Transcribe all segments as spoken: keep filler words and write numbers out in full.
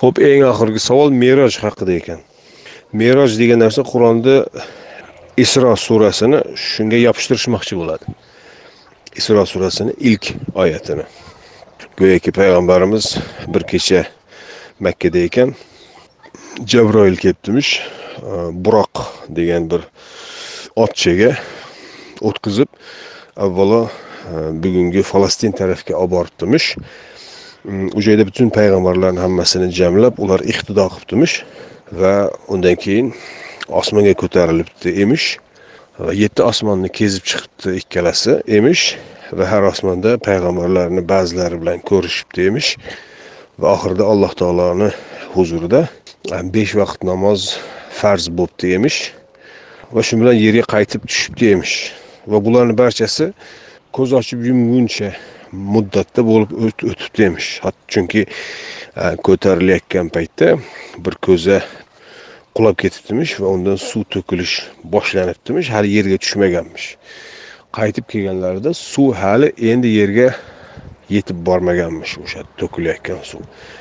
Xo'p, eng oxirgi savol Me'roj haqida ekan. Me'roj degan narsa Qur'onda Isro surasini shunga yopishtirishmoqchi bo'ladi. Isro surasini ilk oyatini. Go'yoki payg'ambarimiz bir kecha Makka da ekan, Jabroil kelibdimish, Buroq degan bir otchaga o'tkazib, avvalo bugungi Falastin tarafga olib boribdimish. U joyda butun payg'ambarlarning hammasini jamlab, ular iqtido qilibdimish va undan keyin osmonga ko'tarilibdi emish va yetti osmonni kezib chiqibdi ikkalasi emish va har osmonda payg'ambarlarni ba'zilari bilan ko'rishibdi emish va oxirida Alloh taoloning huzurida besh vaqt namoz farz bo'libdi emish va shu bilan yerga qaytib tushibdi emish va bularning barchasi ko'z ochib yumguncha muddatda bo'lib o'tibdi emish. Chunki ko'tarilayotgan paytda bir ko'za qulab ketibdimish va undan suv to'kilish boshlanibdimish, hali yerga tushmaganmish. Qaytib kelganlarida suv hali endi yerga yetib bormaganmish, o'sha to'kilayotgan suv.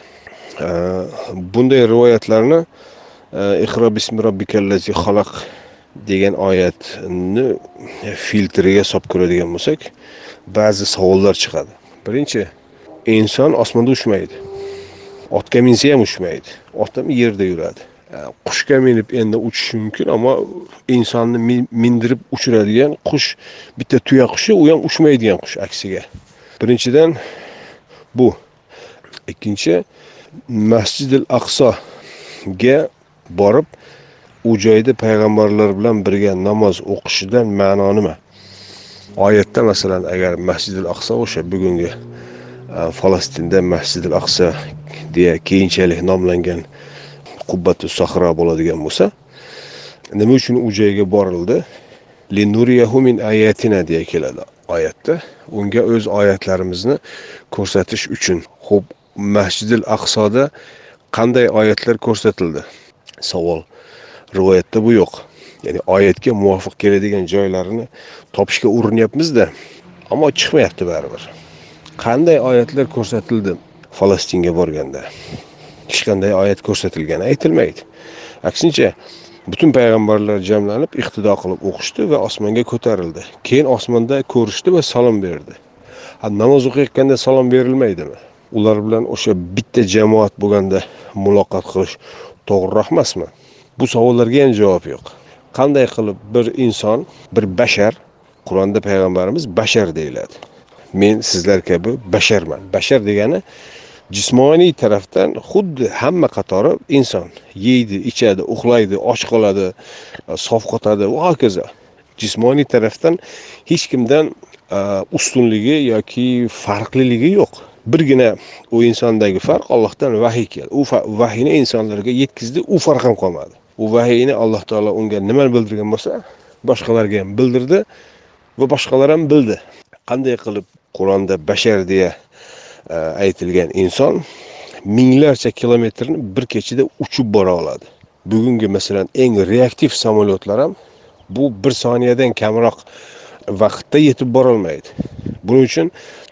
Bunday rivoyatlarni Iqro bismi robbikallazi xalaq degan oyatni filtriga solib ko'radigan bo'lsak, ba'zi savollar chiqadi. Birinchi, inson osmonda uchmaydi. Otga minsa ham uchmaydi. Ot ham yerda yuradi. Qushga minib endi uchishi mumkin, ammo insonni mindirib uchiradigan qush bitta tuya qushi, u ham uchmaydigan qush aksiga. Birinchidan bu. Ikkinchi, Masjidil Aqsoga borib, u joyda payg'ambarlar bilan birga namoz o'qishidan ma'no nima? Oyatda masalan agar Masjidil Aqso o'sha bugungi Falastinda Masjidil Aqso deya keyinchalik nomlangan Qubbatu Sahro bo'ladigan bo'lsa, nima uchun u joyga borildi? Linuriyahu min ayatina deya keladi oyatda. Unga o'z oyatlarimizni ko'rsatish uchun. Xo'p, Masjidil Aqsoda qanday oyatlar ko'rsatildi? Savol. Rivoyatda bu yo'q. Ya'ni oyatga muvofiq keladigan joylarini topishga urinyapmiz-da, ammo chiqmayapti baribir. Qanday oyatlar ko'rsatildi Falastinga borganda? Hech qanday oyat ko'rsatilgani aytilmaydi. Aksincha, butun payg'ambarlar jamlanib, iqtido qilib o'qishdi va osmonga ko'tarildi. Keyin osmonda ko'rishdi va salom berdi. Ha, namoz o'qiyotganda salom berilmaydimi? Ular bilan o'sha bitta jamoat bo'lganda muloqot qilish to'g'riroq emasmi? Bu savollarga ham javob yo'q. Qanday qilib bir inson, bir bashar, Qur'onda payg'ambarimiz bashar deyiladi. Men sizlar kabi basharman. Bashar degani jismoniy tarafdan xuddi hamma qatori inson. Yeydi, ichadi, uxlaydi, och qoladi, sovqotadi va hokazo. Jismoniy tarafdan hech kimdan ustunligi yoki farqliligi yo'q. Birgina u insondagi farq Allohdan vahiy keldi. U vahiyni insonlarga yetkazdi, u farq ham qolmadi. U vahiyni Alloh taolo unga nima bildirgan bo'lsa, boshqalarga ham bildirdi va boshqalar ham bildi. Qanday qilib Qur'onda bashar deya aytilgan inson minglarcha kilometrni bir kechada uchib bora oladi. Bugungi masalan eng reaktiv samolyotlar ham bu bir soniyadan kamroq vaqtda yetib bora olmaydi. Buning uchun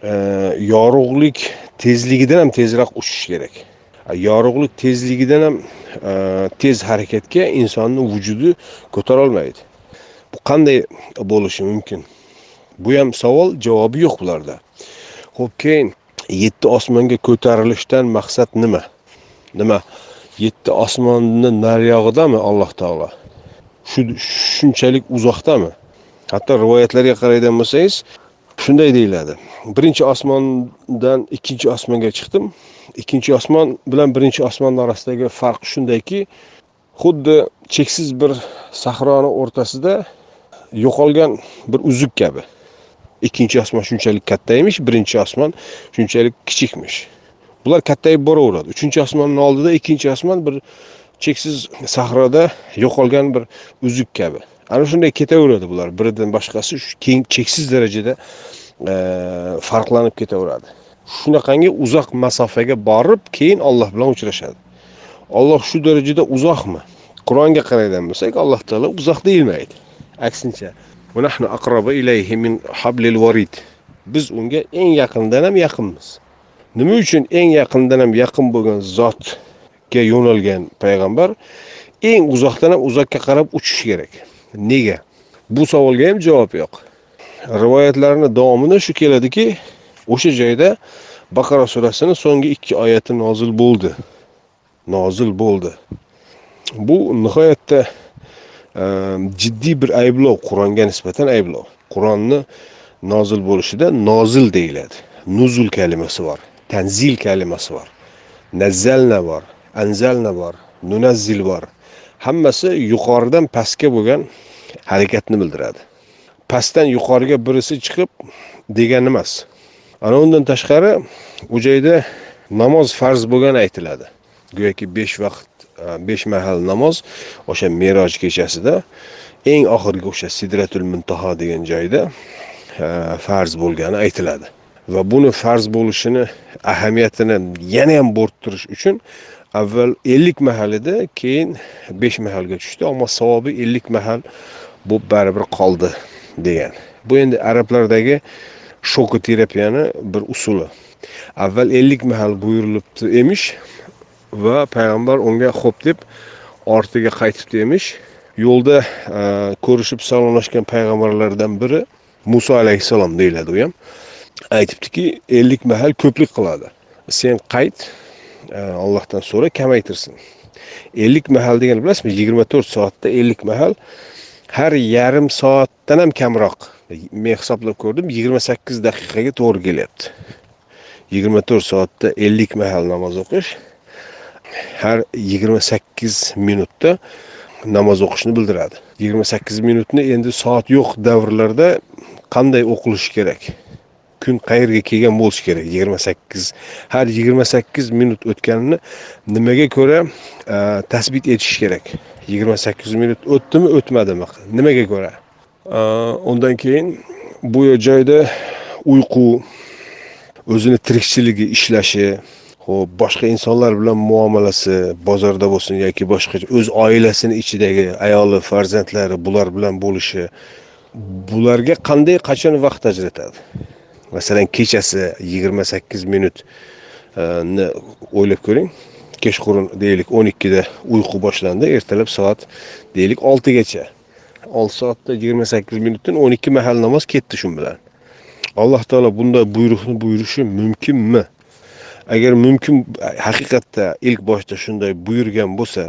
yorug'lik tezligidan ham tezroq uchish kerak. Yorug'lik tezligidan ham tez harakatga insonning vujudi ko'tara olmaydi. Bu qanday bo'lishi mumkin? Bu ham savol, javobi yo'q bularda. Xo'p, keyin yetti osmonga ko'tarilishdan maqsad nima? Nima? yetti osmonni nariyog'idami Alloh taolo? Shu shunchalik uzoqdami? Hatto rivoyatlarga qaraydigan bo'lsangiz, shunday deyiladi. Birinchi osmondan ikkinchi osmonga chiqdim. Ikkinchi osmon bilan birinchi osmon orasidagi farq shundayki, xuddi cheksiz bir sahroning o'rtasida yo'qolgan bir uzuk kabi. Ikkinchi osmon shunchalik katta emish, birinchi osmon shunchalik kichikmish. Bular kattayib boraveradi. Uchinchi osmonning oldida ikkinchi osmon bir cheksiz sahroda yo'qolgan bir uzuk kabi. Ana shunday ketaveradi bular. Biridan boshqasi keng cheksiz darajada farqlanib ketaveradi. Shunaqangi uzoq masofaga borib, keyin Alloh bilan uchrashadi. Alloh shu darajada uzoqmi? Qur'onga qaraydigan bo'lsak, Alloh taolo uzoq deyilmaydi. Aksincha, "Va nahnu aqrabu ilayhi min hablil warid." Biz unga eng yaqindan ham yaqinmiz. Nima uchun eng yaqindan ham yaqin bo'lgan zot uzoqga yo'nalgan payg'ambar eng uzoqdan ham uzoqqa qarab uchish kerak. Nega? Bu savolga ham javob yo'q. Rivoyatlarning davomida shu keladiki, o'sha joyda Baqara surasining so'nggi ikki oyati nozil bo'ldi. Nozil bo'ldi. Bu nihoyatda e, jiddiy bir ayblov, Qur'onga nisbatan ayblov. Qur'onni nozil bo'lishida nozil deyiladi. Nuzul kalimasi bor, tanzil kalimasi bor. Nazzalna bor, anzalna bor, nunazzil bor. Hammasi yuqoridan pastga bo'lgan harakatni bildiradi. Pastdan yuqoriga birisi chiqib degan emas. Ana undan tashqari u joyda namoz farz bo'lgani aytiladi. Go'yoki besh vaqt, besh mahal namoz o'sha Meroj kechasida eng oxirgi o'sha Sidratul Muntaho degan joyda farz bo'lgani aytiladi. Va buni farz bo'lishini ahamiyatini yana ham bo'rttirish uchun avval ellik mahal edi, keyin besh mahalga tushdi, ammo savobi ellik mahal bu baribir qoldi degan. Bu endi arablardagi shokoterapiyaning bir usuli. Avval ellik mahal buyurilibdi emish va payg'ambar unga xo'p deb ortiga qaytibdi emish. Yo'lda ko'rishib salomlashgan payg'ambarlardan biri Musa alayhisalom deyiladi u ham. Aytibdiki, ellik mahal ko'plik qiladi. Sen qayt, Allohdan so'ra kamaytirsin. ellik mahal degan bilasizmi? yigirma to'rt soatda ellik mahal, har yarim soatdan ham kamroq. Men hisoblab ko'rdim, yigirma sakkiz daqiqaga to'g'ri kelyapti. yigirma to'rt soatda ellik mahal namoz o'qish har yigirma sakkiz minutda namoz o'qishni bildiradi. yigirma sakkiz minutni endi soat yo'q davrlarda qanday o'qilishi kerak? Kun qayerga kelgan bo'lishi kerak? yigirma sakkiz har yigirma sakkiz minut o'tganini nimaga ko'ra tasbit etish kerak? yigirma sakkiz minut o'tdimi, o'tmadimi? Nimaga ko'ra? Undan keyin bu joyda uyqu, o'zini tirikchiligi, ishlashi, xo'p, boshqa insonlar bilan muomalasi, bozorda bo'lsin yoki boshqa o'z oilasining ichidagi ayoli, farzandlari bular bilan bo'lishi, bularga qanday qachon vaqt ajratadi? Masalan, kechasi yigirma sakkiz minut ni o'ylab ko'ring. Kechqurun deylik o'n ikkida uyqu boshlandi, ertalab soat deylik oltigacha. olti soatda yigirma sakkiz minutdan o'n ikki mahal namoz ketdi shun bilan. Alloh taolo bunday buyruqni buyurishi mumkinmi? Agar mumkin, haqiqatda ilk boshda shunday buyurgan bo'lsa,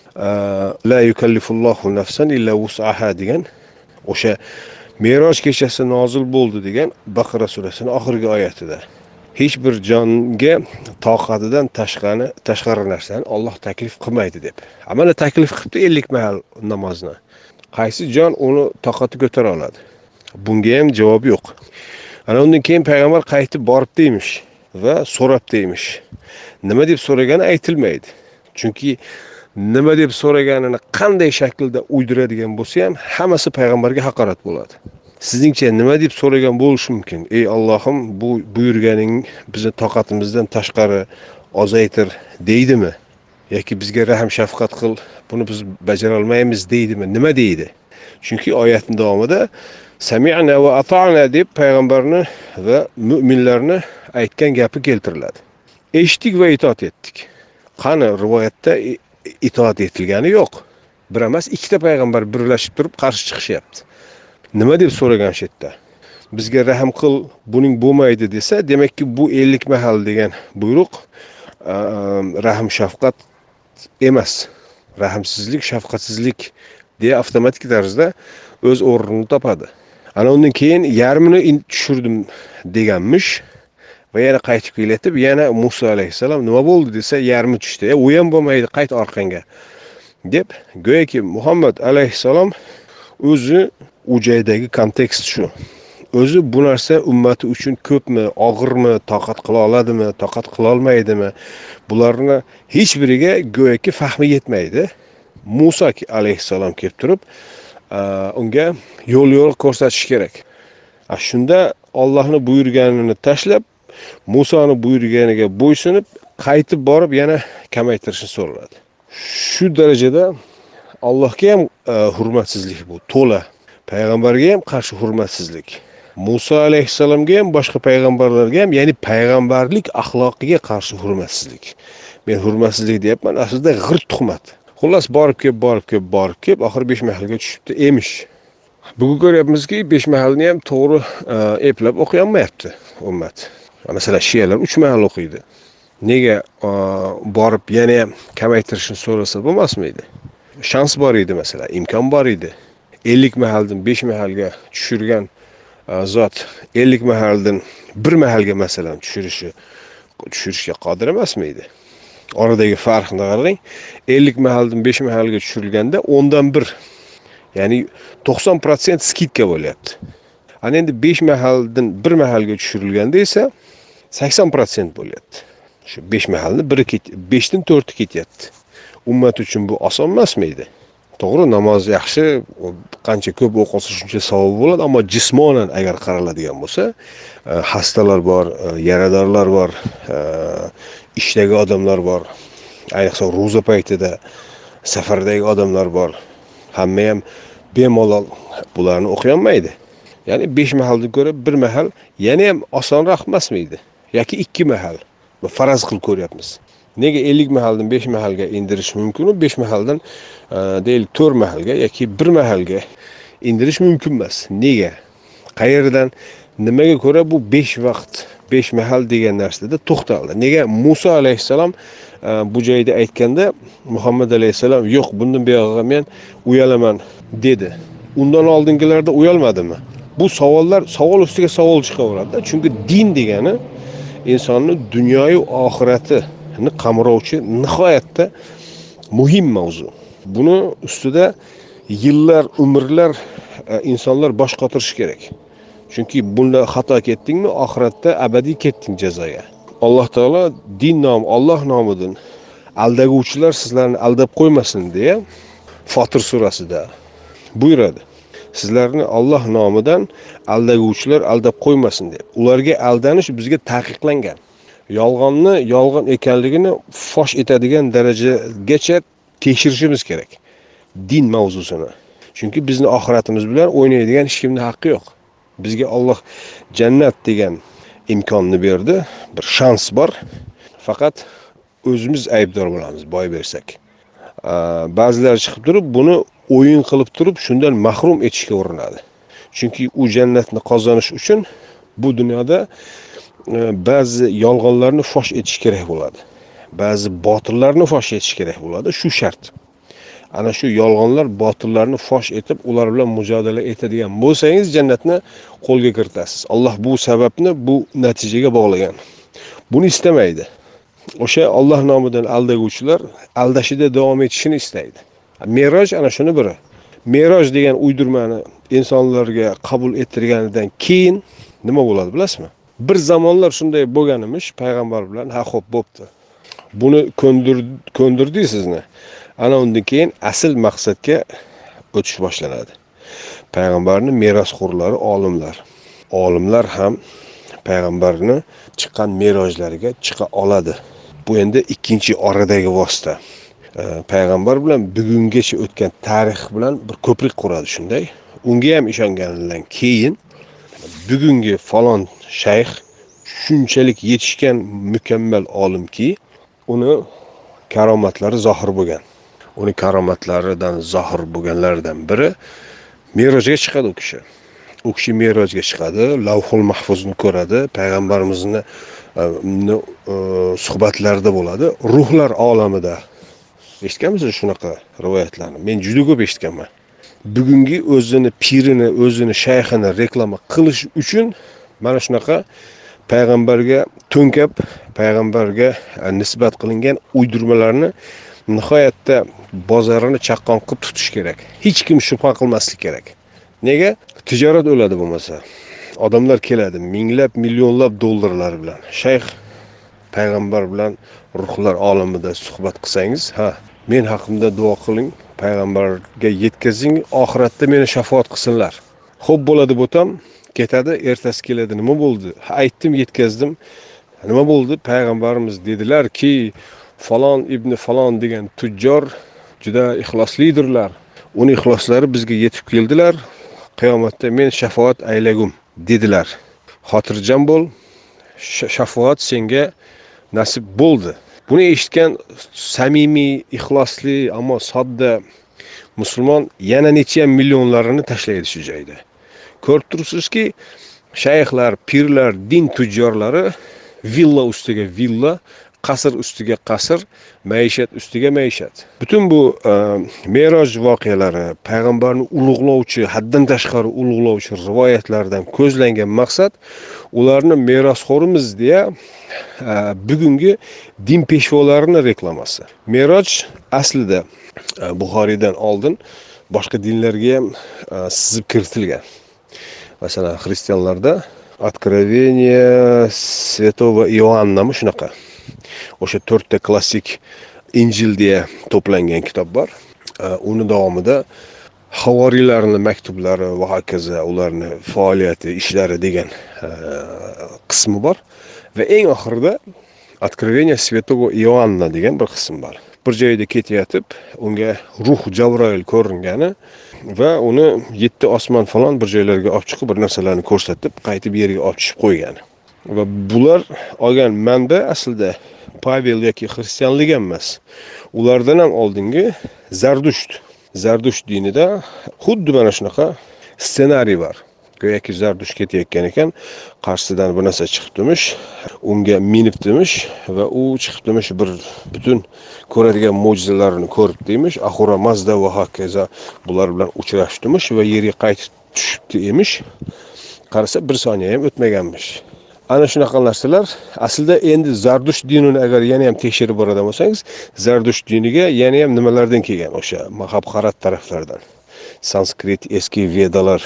la yukallifullohu nafsan illa wus'aha degan o'sha Meroj kechasi nozil bo'ldi degan Baqara surasining oxirgi oyatida hech bir jonga toqatidan tashqari tashqari narsani Alloh taklif qilmaydi deb. Amana taklif qilibdi ellik mahal namozni. Qaysi jon uni toqati ko'tara oladi? Bunga ham javob yo'q. Ana undan keyin payg'ambar qaytib borib deymish va so'rab deymish. Nima deb so'ragani aytilmaydi. Chunki nima deb so'raganini qanday shaklda uydiradigan bo'lsa ham hammasi payg'ambarga haqorat bo'ladi. Sizningcha nima deb so'ragan bo'lishi mumkin? Ey Allohim, bu buyurganing bizni toqatimizdan tashqari ozaytir deydimi? Yoki bizga rahm shafqat qil, buni biz bajara olmaymiz deydimi? Nima deydi? Chunki oyatning davomida sami'na va ata'na deb payg'ambarni va mu'minlarni aytgan gapi keltiriladi. Eshitdik va itoat etdik. Qani rivoyatda itoat etilgani yo'q. Bir emas, ikkita payg'ambar birlashib turib qarshi chiqishyapti. Nima deb so'ragan shu yerda? Bizga rahm qil, buning bo'lmaydi desa, demakki bu ellik mahal degan buyruq rahm shafqat emas. Rahmsizlik, shafqatsizlik deya avtomatik tarzda o'z o'rnini topadi. Ana undan keyin yarmini tushirdim deganmish va yana qaytib kelayotib, yana Musa alayhisalom nima bo'ldi desa, yarmi tushdi. E, u ham bo'lmaydi, qayt orqangga deb, go'yoki Muhammad alayhisalom o'zi u joydagi kontekst shu. O'zi bu narsa ummati uchun ko'pmi, og'irmi, toqat qila oladimi, toqat qila olmaydimi? Bularni hech biriga go'yoki fahmi yetmaydi. Musa alayhisalom kelib turib, unga yo'l yo'l ko'rsatish kerak. Shunda Allohning buyurganini tashlab, Musoni buyurganiga bo'ysunib, qaytib borib yana kamaytirishni so'radi. Shu darajada Allohga ham hurmatsizlik bu, to'la. Payg'ambarga ham qarshi hurmatsizlik. Musa alayhissalomga ham, boshqa payg'ambarlarga ham, ya'ni payg'ambarlik axloqiga qarshi hurmatsizlik. Men hurmatsizlik deyapman, aslida g'irt tuhmat. Xullas borib kelib, borib kelib, borib kelib, oxir besh mahalga tushibdi emish. Bugun ko'ryapmizki, besh mahalni ham to'g'ri eplab o'qiy olmayapti ummat. Masalan, shiyalar uch mahal o'qiydi. Nega borib yana ham kamaytirishni so'rasa bo'lmasmidi? Shans bor edi, masalan, imkon bor edi. ellik mahaldan besh mahalga tushirgan zot ellik mahaldan bir mahalga masalan tushirishi tushirishga qodir emasmidi? Oradagi farqni qarang. ellik mahaldan besh mahalga tushirilganda o'ndan bir, ya'ni to'qson foiz skidka bo'lyapti. Ana endi besh mahaldan bir mahalga tushirilganda esa sakson foiz bo'lyapti. Shu besh mahalni biri besh dan to'rti ketyapti. Ummat uchun bu oson emasmidi? To'g'ri, namoz yaxshi, qancha ko'p o'qilsa shuncha savob bo'ladi, ammo jismonan agar qaraladigan bo'lsa, xastalar bor, yaradorlar bor, ishdagi odamlar bor, ayniqsa ro'za paytida safardagi odamlar bor. Hamma ham bemalol bularni o'qiy olmaydi. Ya'ni besh mahaldan ko'ra bir mahal yana ham osonroq emasmidi? Yoki ikki mahal. Bu faraz qilib ko'ryapmiz. Nega ellik mahaldan besh mahalga indirish mumkin, besh mahaldan deylik to'rt mahalga yoki bir mahalga indirish mumkin emas? Nega? Qayerdan, nimaga ko'ra bu besh vaqt, besh mahal degan narsada to'xtaldi? Nega Musa alayhissalom bu joyda aytganda Muhammad alayhissalom yo'q, bundan buyog'iga men uyalaman dedi. Undan oldingilarda uyalmadimi? Bu savollar, savol ustiga savol chiqaveradi. Chunki din degani insonning dunyoyu oxiratini qamrovchi nihoyatda muhim mavzu. Buni ustida yillar, umrlar insonlar bosh qotirishi kerak. Chunki bunda xato ketdingmi, oxiratda abadiy ketding jazoga. Alloh taolo din nom, Alloh nomidan aldaguvchilar sizlarni aldab qo'ymasin deya Fotir surasida buyuradi. Sizlarni Alloh nomidan aldaguvchilar aldab qo'ymasin deb. Ularga aldanish bizga taqiqlangan. Yolg'onni yolg'on ekanligini fosh etadigan darajagacha tekshirishimiz kerak din mavzusini. Chunki bizni oxiratimiz bilan o'ynaydigan hech kimning haqqi yo'q. Bizga Alloh jannat degan imkonni berdi, bir shans bor. Faqat o'zimiz aybdor bo'lamiz boy bersak. Ba'zilar chiqib turib buni o'yin qilib turib shundan mahrum etishga urinadi. Chunki u jannatni qozonish uchun bu dunyoda ba'zi yolg'onlarni fosh etish kerak bo'ladi. Ba'zi botillarni fosh etish kerak bo'ladi, shu shart. Ana shu yolg'onlar, botillarni fosh etib, ular bilan mujodala etadigan bo'lsangiz jannatni qo'lga kiritasiz. Alloh bu sababni bu natijaga bog'lagan. Buni istamaydi. O'sha Alloh nomidan aldaguvchilar aldashida davom etishini istaydi. Meroj ana shuni biri. Meroj degan uydirmani insonlarga qabul ettirganidan keyin nima bo'ladi bilasizmi? Bir zamonlar shunday bo'lganimish payg'ambar bilan, ha xo'p bo'pti. Buni ko'ndir ko'ndirdik sizni. Ana undan keyin asl maqsadga o'tish boshlanadi. Payg'ambarning merosxo'rlari olimlar. Olimlar ham payg'ambarning chiqqan merojlariga chiqa oladi. Bu endi ikkinchi oradagi vosita. Payg'ambar bilan bugungacha o'tgan tarix bilan bir ko'prik quradi shunday. Unga ham ishongandan keyin bugungi falon shayx shunchalik yetishgan mukammal olimki, uni karomatlari zohir bo'lgan. Uni karomatlaridan zohir bo'lganlardan biri merojga chiqadi u kishi. U kishi merojga chiqadi, Lavhul Mahfuzni ko'radi, payg'ambarimizni suhbatlarida bo'ladi, ruhlar olamida. Eshitganmisiz shunaqa rivoyatlarni? Men juda ko'p eshitganman. Bugungi o'zini pirini, o'zini shayxini reklama qilish uchun mana shunaqa payg'ambarga to'nkab, payg'ambarga nisbat qilingan uydirmalarni nihoyatda bozorini chaqqon qilib tutish kerak. Hech kim shubha qilmaslik kerak. Nega? Tijorat o'ladi bo'lmasa. Odamlar keladi, minglab, millionlab dollarlar bilan. Shayx payg'ambar bilan ruhlar olamida suhbat qilsangiz, ha, men haqimda duo qiling, payg'ambarga yetkazing, oxiratda meni shafaat qilsinlar. Xo'p bo'ladi bo'tam, ketadi, ertasi keladi, nima bo'ldi? Ha, aytdim, yetkazdim. Nima bo'ldi? Payg'ambarimiz dedilar-ki, falon ibn falon degan tujjor juda ixloslidirlar. Uning ixloslari bizga yetib keldilar. Qiyomatda men shafaat aylagum. dedilar. Xotirjam bo'l, shafoat senga nasib bo'ldi. Buni eshitgan samimiy, ixlosli, ammo sodda musulmon yana necha millionlarini tashlaydi shu joyda. Ko'rib turibsizki, shayxlar, pirlar, din tujjorlari villa ustiga villa, qasr ustiga qasr, maishat ustiga maishat. Butun bu uh, Meroj voqealari, payg'ambarni ulug'lovchi, haddan tashqari ulug'lovchi rivoyatlardan ko'zlangan maqsad ularni merosxo'rimiz deya uh, bugungi din peshvolarini reklamasi. Meroj aslida uh, Buxoriydan oldin boshqa dinlarga ham uh, sizib kiritilgan. Masalan, xristianlarda Откровение Святого Иоаннami shunaqa. O'sha to'rtta klassik Injil deya to'plangan kitob bor. Uni davomida havoriylarning maktublari va hokazo, ularning faoliyati, ishlari degan qismi bor va eng oxirida Откровение Святого Иоанна degan bir qism bor. Bir joyda ketayotib, unga ruh Jabroil ko'ringani va uni yetti osmon falon bir joylarga olib chiqib, bir narsalarni ko'rsatib, qaytib yerga olib tushib qo'ygan. Va bular olgan manba aslida Pavel yoki xristianlik emas. Ulardan ham oldingi Zardusht. Zardusht dinida xuddi mana shunaqa ssenariy bor. Go'yoki Zardusht ketayotgan ekan, qarshisidan bir narsa chiqibdimish, unga minibdimish va u chiqibdimish bir butun ko'radigan mo'jizalarni ko'rib deymish, Ahura Mazda va hokazo bular bilan uchrashdimish va yerga qaytib tushibdi emish. Qarasa bir soniya ham o'tmaganmish. Ana shunaqa narsalar aslida endi Zardusht dinini agar yana ham tekshirib boradigan bo'lsangiz, Zardusht diniga yana ham nimalardan kelgan? O'sha Mahabharat taraflardan. Sanskrit, eski Vedalar,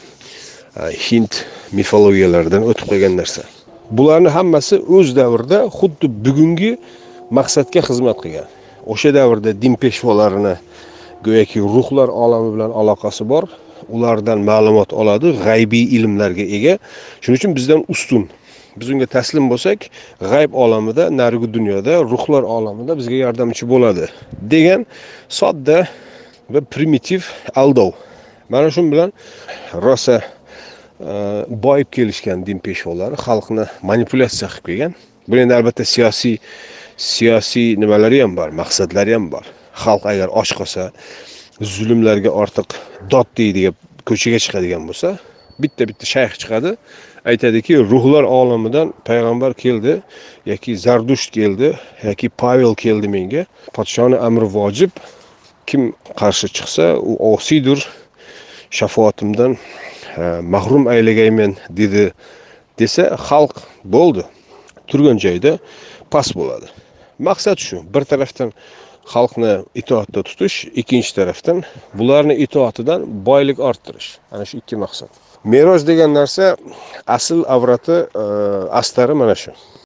Hind mifologiyalaridan o'tib qolgan narsa. Bularning hammasi o'z davrida xuddi bugungi maqsadga xizmat qilgan. O'sha davrda din peshvolarini go'yoki ruhlar olami bilan aloqasi bor, ulardan ma'lumot oladi, g'aybiy ilmlarga ega. Shuning uchun bizdan ustun. Biz unga taslim bo'lsak, g'ayb olamida, narigi dunyoda, ruhlar olamida bizga yordamchi bo'ladi degan sodda va primitiv aldov. Mana shu bilan rosa boyib kelishgan din peshvolari xalqni manipulyatsiya qilib kelgan. Bu endi albatta siyosiy siyosiy nimalari ham bor, maqsadlari ham bor. Xalq agar och qolsa, zulmlarga ortiq dod deydigan ko'chaga chiqadigan bo'lsa, bitta-bitta shayx chiqadi, aytadiki, ruhlar olamidan payg'ambar keldi, yoki Zardusht keldi, yoki Pavel keldi menga. Podshoning amri vojib, kim qarshi chiqsa, u osiydir, shafoatimdan mahrum aylagayman dedi desa, xalq bo'ldi, turgan joyda pas bo'ladi. Maqsad shu. Bir tarafdan xalqni itoatda tutish, ikkinchi tarafdan bularni itoatidan boylik orttirish. Ana shu ikki maqsad. Meroj degan narsa asl avrati, astari mana shu.